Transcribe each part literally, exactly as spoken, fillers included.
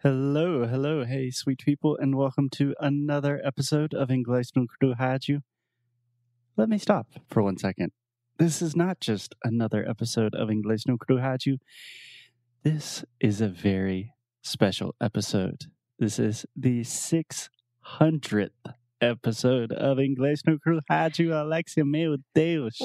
Hello, hello, hey, sweet people, and welcome to another episode of Inglês no Rádio. Let me stop for one second. This is not just another episode of Inglês no Rádio. This is a very special episode. This is the six hundredth episode of Inglês no Rádio. Alexia, meu Deus.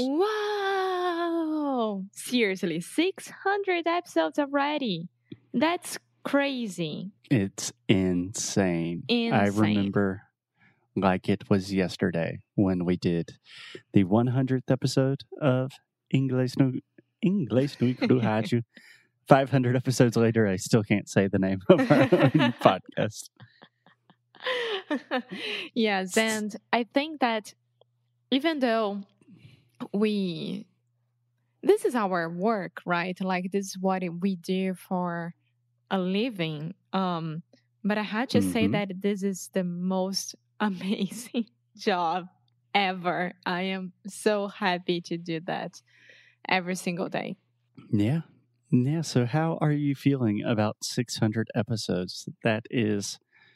Wow! Seriously, six hundred episodes already. That's crazy. It's insane. Insane. I remember like it was yesterday when we did the one hundredth episode of Inglês no, Inglês no Rádio. five hundred episodes later, I still can't say the name of our own podcast. Yes, and I think that even though we, this is our work, right? Like this is what we do for a living. Um, but I had to mm-hmm. say that this is the most amazing job ever. I am so happy to do that every single day. Yeah. Yeah. So how are you feeling about six hundred episodes? That is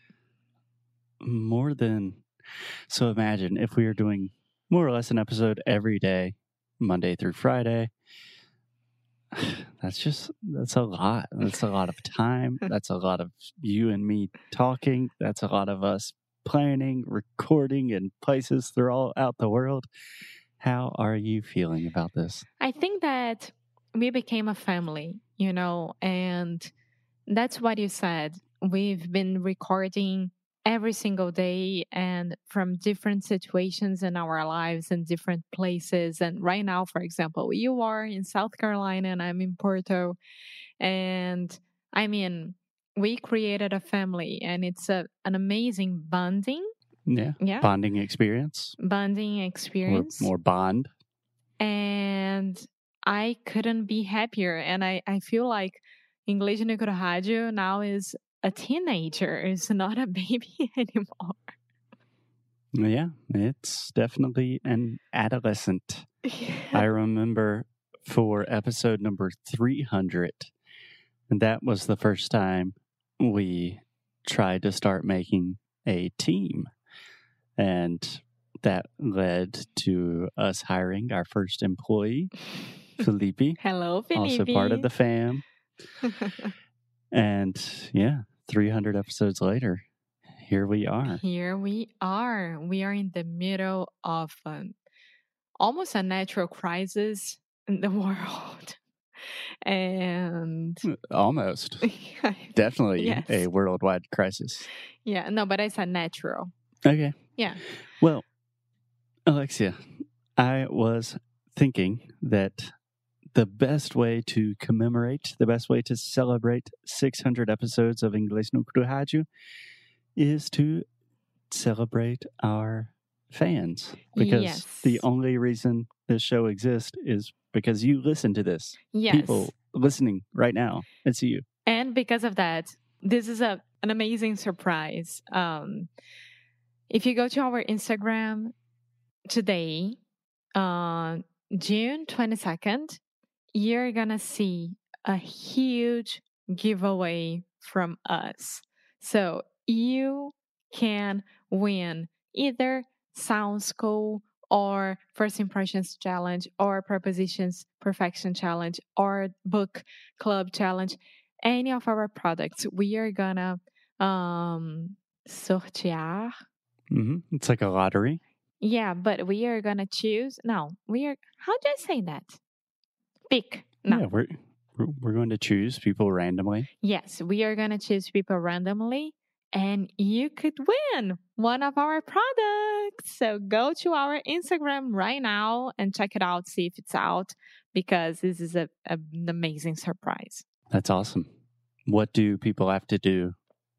more than, so imagine if we were doing more or less an episode every day, Monday through Friday. That's just, that's a lot. That's a lot of time. That's a lot of you and me talking. That's a lot of us planning, recording in places throughout the world. How are you feeling about this? I think that we became a family, you know, and that's what you said. We've been recording every single day and from different situations in our lives and different places. And right now, for example, you are in South Carolina and I'm in Porto. And I mean, we created a family and it's a, an amazing bonding. Yeah. yeah. Bonding experience. Bonding experience. Or more bond. And I couldn't be happier. And I, I feel like Inglês no Rádio now is a teenager. It's not a baby anymore. Yeah, it's definitely an adolescent. Yeah. I remember for episode number three hundred, and that was the first time we tried to start making a team. And that led to us hiring our first employee, Felipe. Hello, Felipe. Also part of the fam. And yeah, three hundred episodes later, here we are. Here we are. We are in the middle of um, almost a natural crisis in the world. And almost. Definitely yes. A worldwide crisis. Yeah, no, but I said natural. Okay. Yeah. Well, Alexia, I was thinking that the best way to commemorate, the best way to celebrate six hundred episodes of Inglês no Rádio is to celebrate our fans. Because yes. the only reason this show exists is because you listen to this. Yes. People listening right now. It's you. And because of that, this is a an amazing surprise. Um, if you go to our Instagram today, uh, June twenty-second, you're gonna see a huge giveaway from us. So you can win either Sound School or First Impressions Challenge or Prepositions Perfection Challenge or Book Club Challenge. Any of our products, we are gonna um, sortear. Mm-hmm. It's like a lottery. Yeah, but we are gonna choose. No, we are. How do I say that? Pick. No. Yeah, we're we're going to choose people randomly. Yes, we are going to choose people randomly, and you could win one of our products. So go to our Instagram right now and check it out, see if it's out, because this is a, a, an amazing surprise. That's awesome. What do people have to do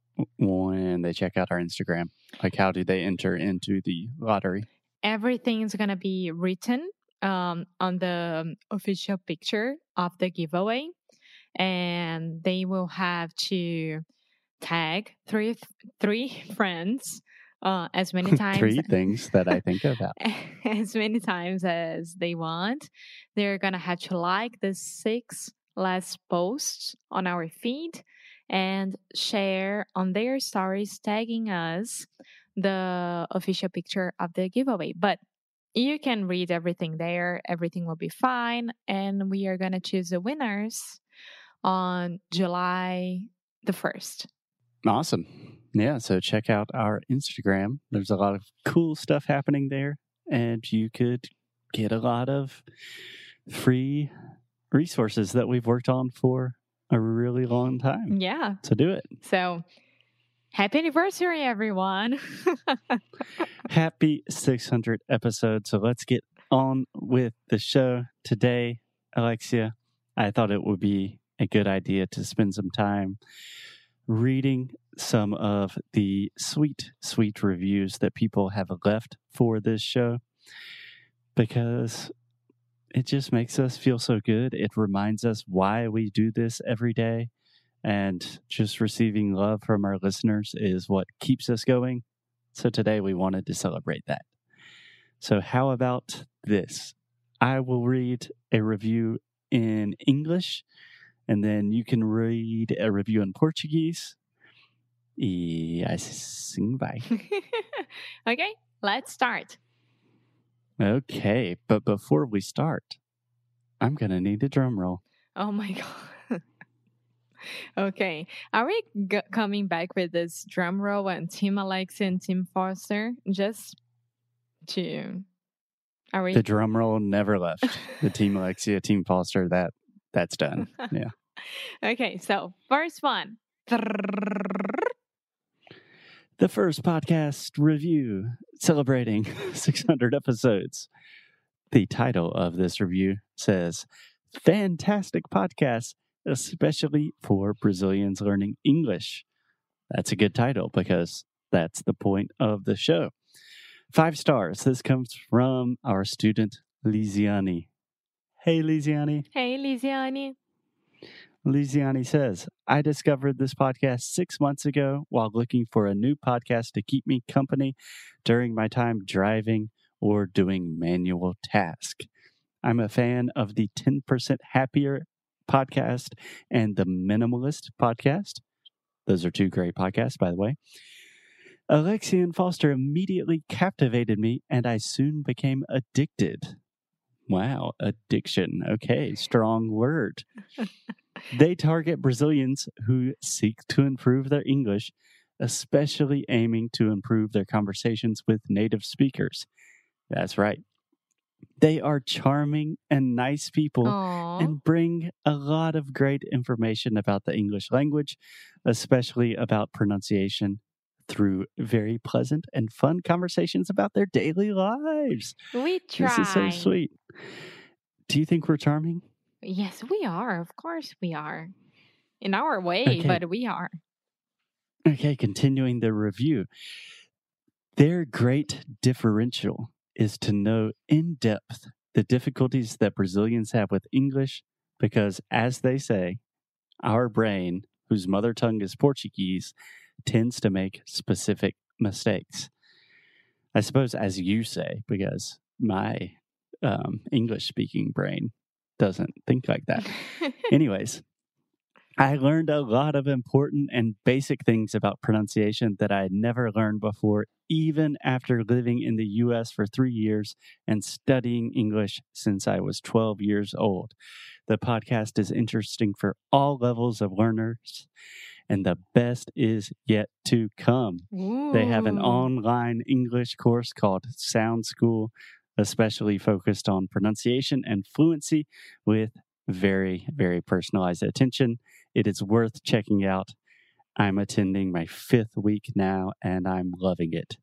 when they check out our Instagram? Like, how do they enter into the lottery? Everything is going to be written Um, on the official picture of the giveaway, and they will have to tag three three friends uh, as many times. Three things that I think about. As many times as they want. They're gonna have to like the six last posts on our feed, and share on their stories, tagging us the official picture of the giveaway. But you can read everything there. Everything will be fine. And we are going to choose the winners on July the first. Awesome. Yeah, so check out our Instagram. There's a lot of cool stuff happening there, and you could get a lot of free resources that we've worked on for a really long time. Yeah. So do it. So happy anniversary, everyone. Happy six hundred episodes. So let's get on with the show today. Alexia, I thought it would be a good idea to spend some time reading some of the sweet, sweet reviews that people have left for this show, because it just makes us feel so good. It reminds us why we do this every day, and just receiving love from our listeners is what keeps us going. So today we wanted to celebrate that. So how about this? I will read a review in English, and then you can read a review in Portuguese. E assim vai. Okay, let's start. Okay, but before we start, I'm going to need a drum roll. Oh my God. Okay, are we g- coming back with this drum roll and Team Alexia and Team Foster? Just to... Are we... The drum roll never left. The Team Alexia, Team Foster, that that's done. Yeah. Okay, so first one. The first podcast review celebrating six hundred episodes. The title of this review says, "Fantastic podcast, especially for Brazilians learning English." That's a good title because that's the point of the show. Five stars. This comes from our student, Lisiani. Hey, Lisiani. Hey, Lisiani. Lisiani says, "I discovered this podcast six months ago while looking for a new podcast to keep me company during my time driving or doing manual tasks. I'm a fan of the ten percent Happier podcast and the Minimalist podcast." Those are two great podcasts, by the way. "Alexia and Foster immediately captivated me, and I soon became addicted." Wow, addiction. Okay, strong word. "They target Brazilians who seek to improve their English, especially aiming to improve their conversations with native speakers." That's right. "They are charming and nice people Aww. and bring a lot of great information about the English language, especially about pronunciation, through very pleasant and fun conversations about their daily lives." We try. This is so sweet. Do you think we're charming? Yes, we are. Of course we are. In our way, Okay. but we are. Okay, continuing the review. "Their great differential is to know in depth the difficulties that Brazilians have with English, because, as they say, our brain, whose mother tongue is Portuguese, tends to make specific mistakes." I suppose, as you say, because my um, English-speaking brain doesn't think like that. Anyways, "I learned a lot of important and basic things about pronunciation that I had never learned before, even after living in the U S for three years and studying English since I was twelve years old. The podcast is interesting for all levels of learners, and the best is yet to come." They have an Ooh. online English course called Sound School, especially focused on pronunciation and fluency with very, very personalized attention. It is worth checking out. I'm attending my fifth week now, and I'm loving it.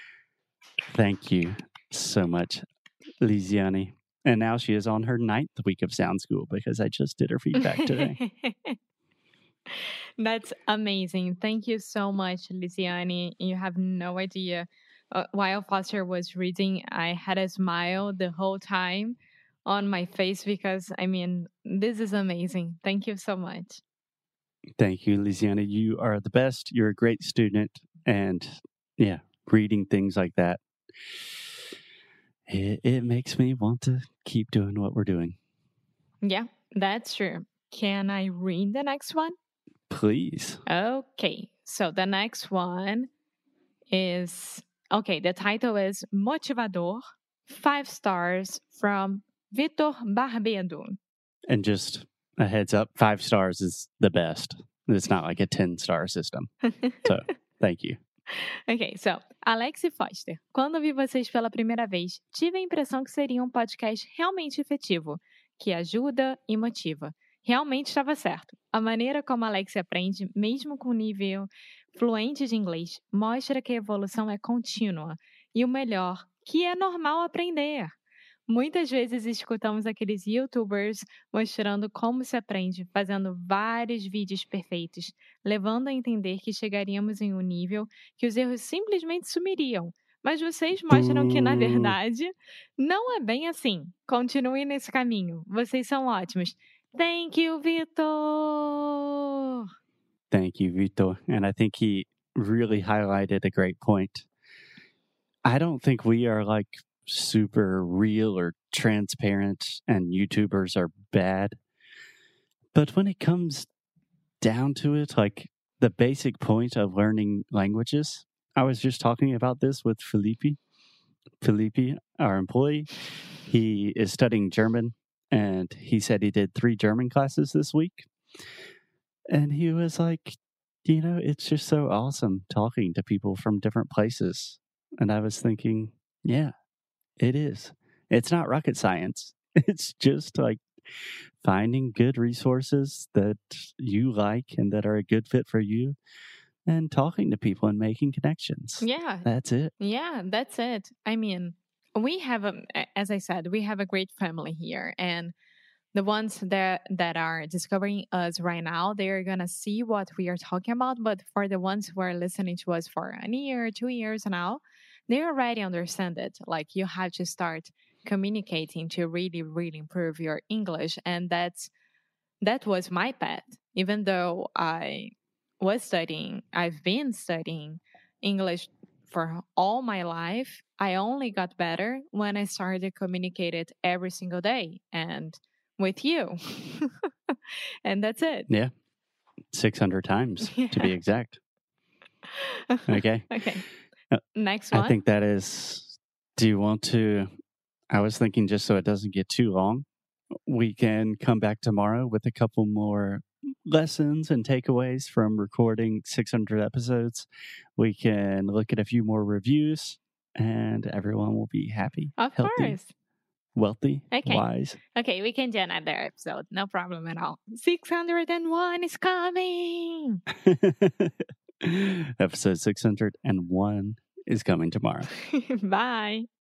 Thank you so much, Lisiani. And now she is on her ninth week of Sound School because I just did her feedback today. That's amazing. Thank you so much, Lisiani. You have no idea. Uh, while Foster was reading, I had a smile the whole time on my face because, I mean, this is amazing. Thank you so much. Thank you, Lisiana. You are the best. You're a great student. And yeah, reading things like that, it, it makes me want to keep doing what we're doing. Yeah, that's true. Can I read the next one? Please. Okay, so the next one is okay, the title is Motivador, five stars from Vitor Barbedo. And just a heads up, five stars is the best. It's not like a ten-star system. So, thank you. Ok, so, Alex e Foster, quando vi vocês pela primeira vez, tive a impressão que seria um podcast realmente efetivo, que ajuda e motiva. Realmente estava certo. A maneira como Alex aprende, mesmo com nível fluente de inglês, mostra que a evolução é contínua. E o melhor, que é normal aprender. Muitas vezes escutamos aqueles YouTubers mostrando como se aprende, fazendo vários vídeos perfeitos, levando a entender que chegaríamos em um nível que os erros simplesmente sumiriam. Mas vocês mostram que, na verdade, não é bem assim. Continue nesse caminho. Vocês são ótimos. Thank you, Vitor! Thank you, Vitor. And I think he really highlighted a great point. I don't think we are like super real or transparent and YouTubers are bad. But when it comes down to it, like the basic point of learning languages, I was just talking about this with Felipe. Felipe, our employee, he is studying German and he said he did three German classes this week. And he was like, you know, it's just so awesome talking to people from different places. And I was thinking, yeah, it is. It's not rocket science. It's just like finding good resources that you like and that are a good fit for you and talking to people and making connections. Yeah. That's it. Yeah, that's it. I mean, we have, a, as I said, we have a great family here. And the ones that, that are discovering us right now, they're going to see what we are talking about. But for the ones who are listening to us for a year, two years now, they already understand it. Like you have to start communicating to really, really improve your English. And that's, that was my path. Even though I was studying, I've been studying English for all my life, I only got better when I started communicating it every single day and with you. And that's it. Yeah. six hundred times Yeah. to be exact. Okay. Okay. Uh, Next one. I think that is, do you want to, I was thinking just so it doesn't get too long, we can come back tomorrow with a couple more lessons and takeaways from recording six hundred episodes. We can look at a few more reviews and everyone will be happy, Of healthy, course. wealthy, Okay. wise. Okay, we can do another episode. No problem at all. six hundred one is coming. Episode six hundred one is coming tomorrow. Bye.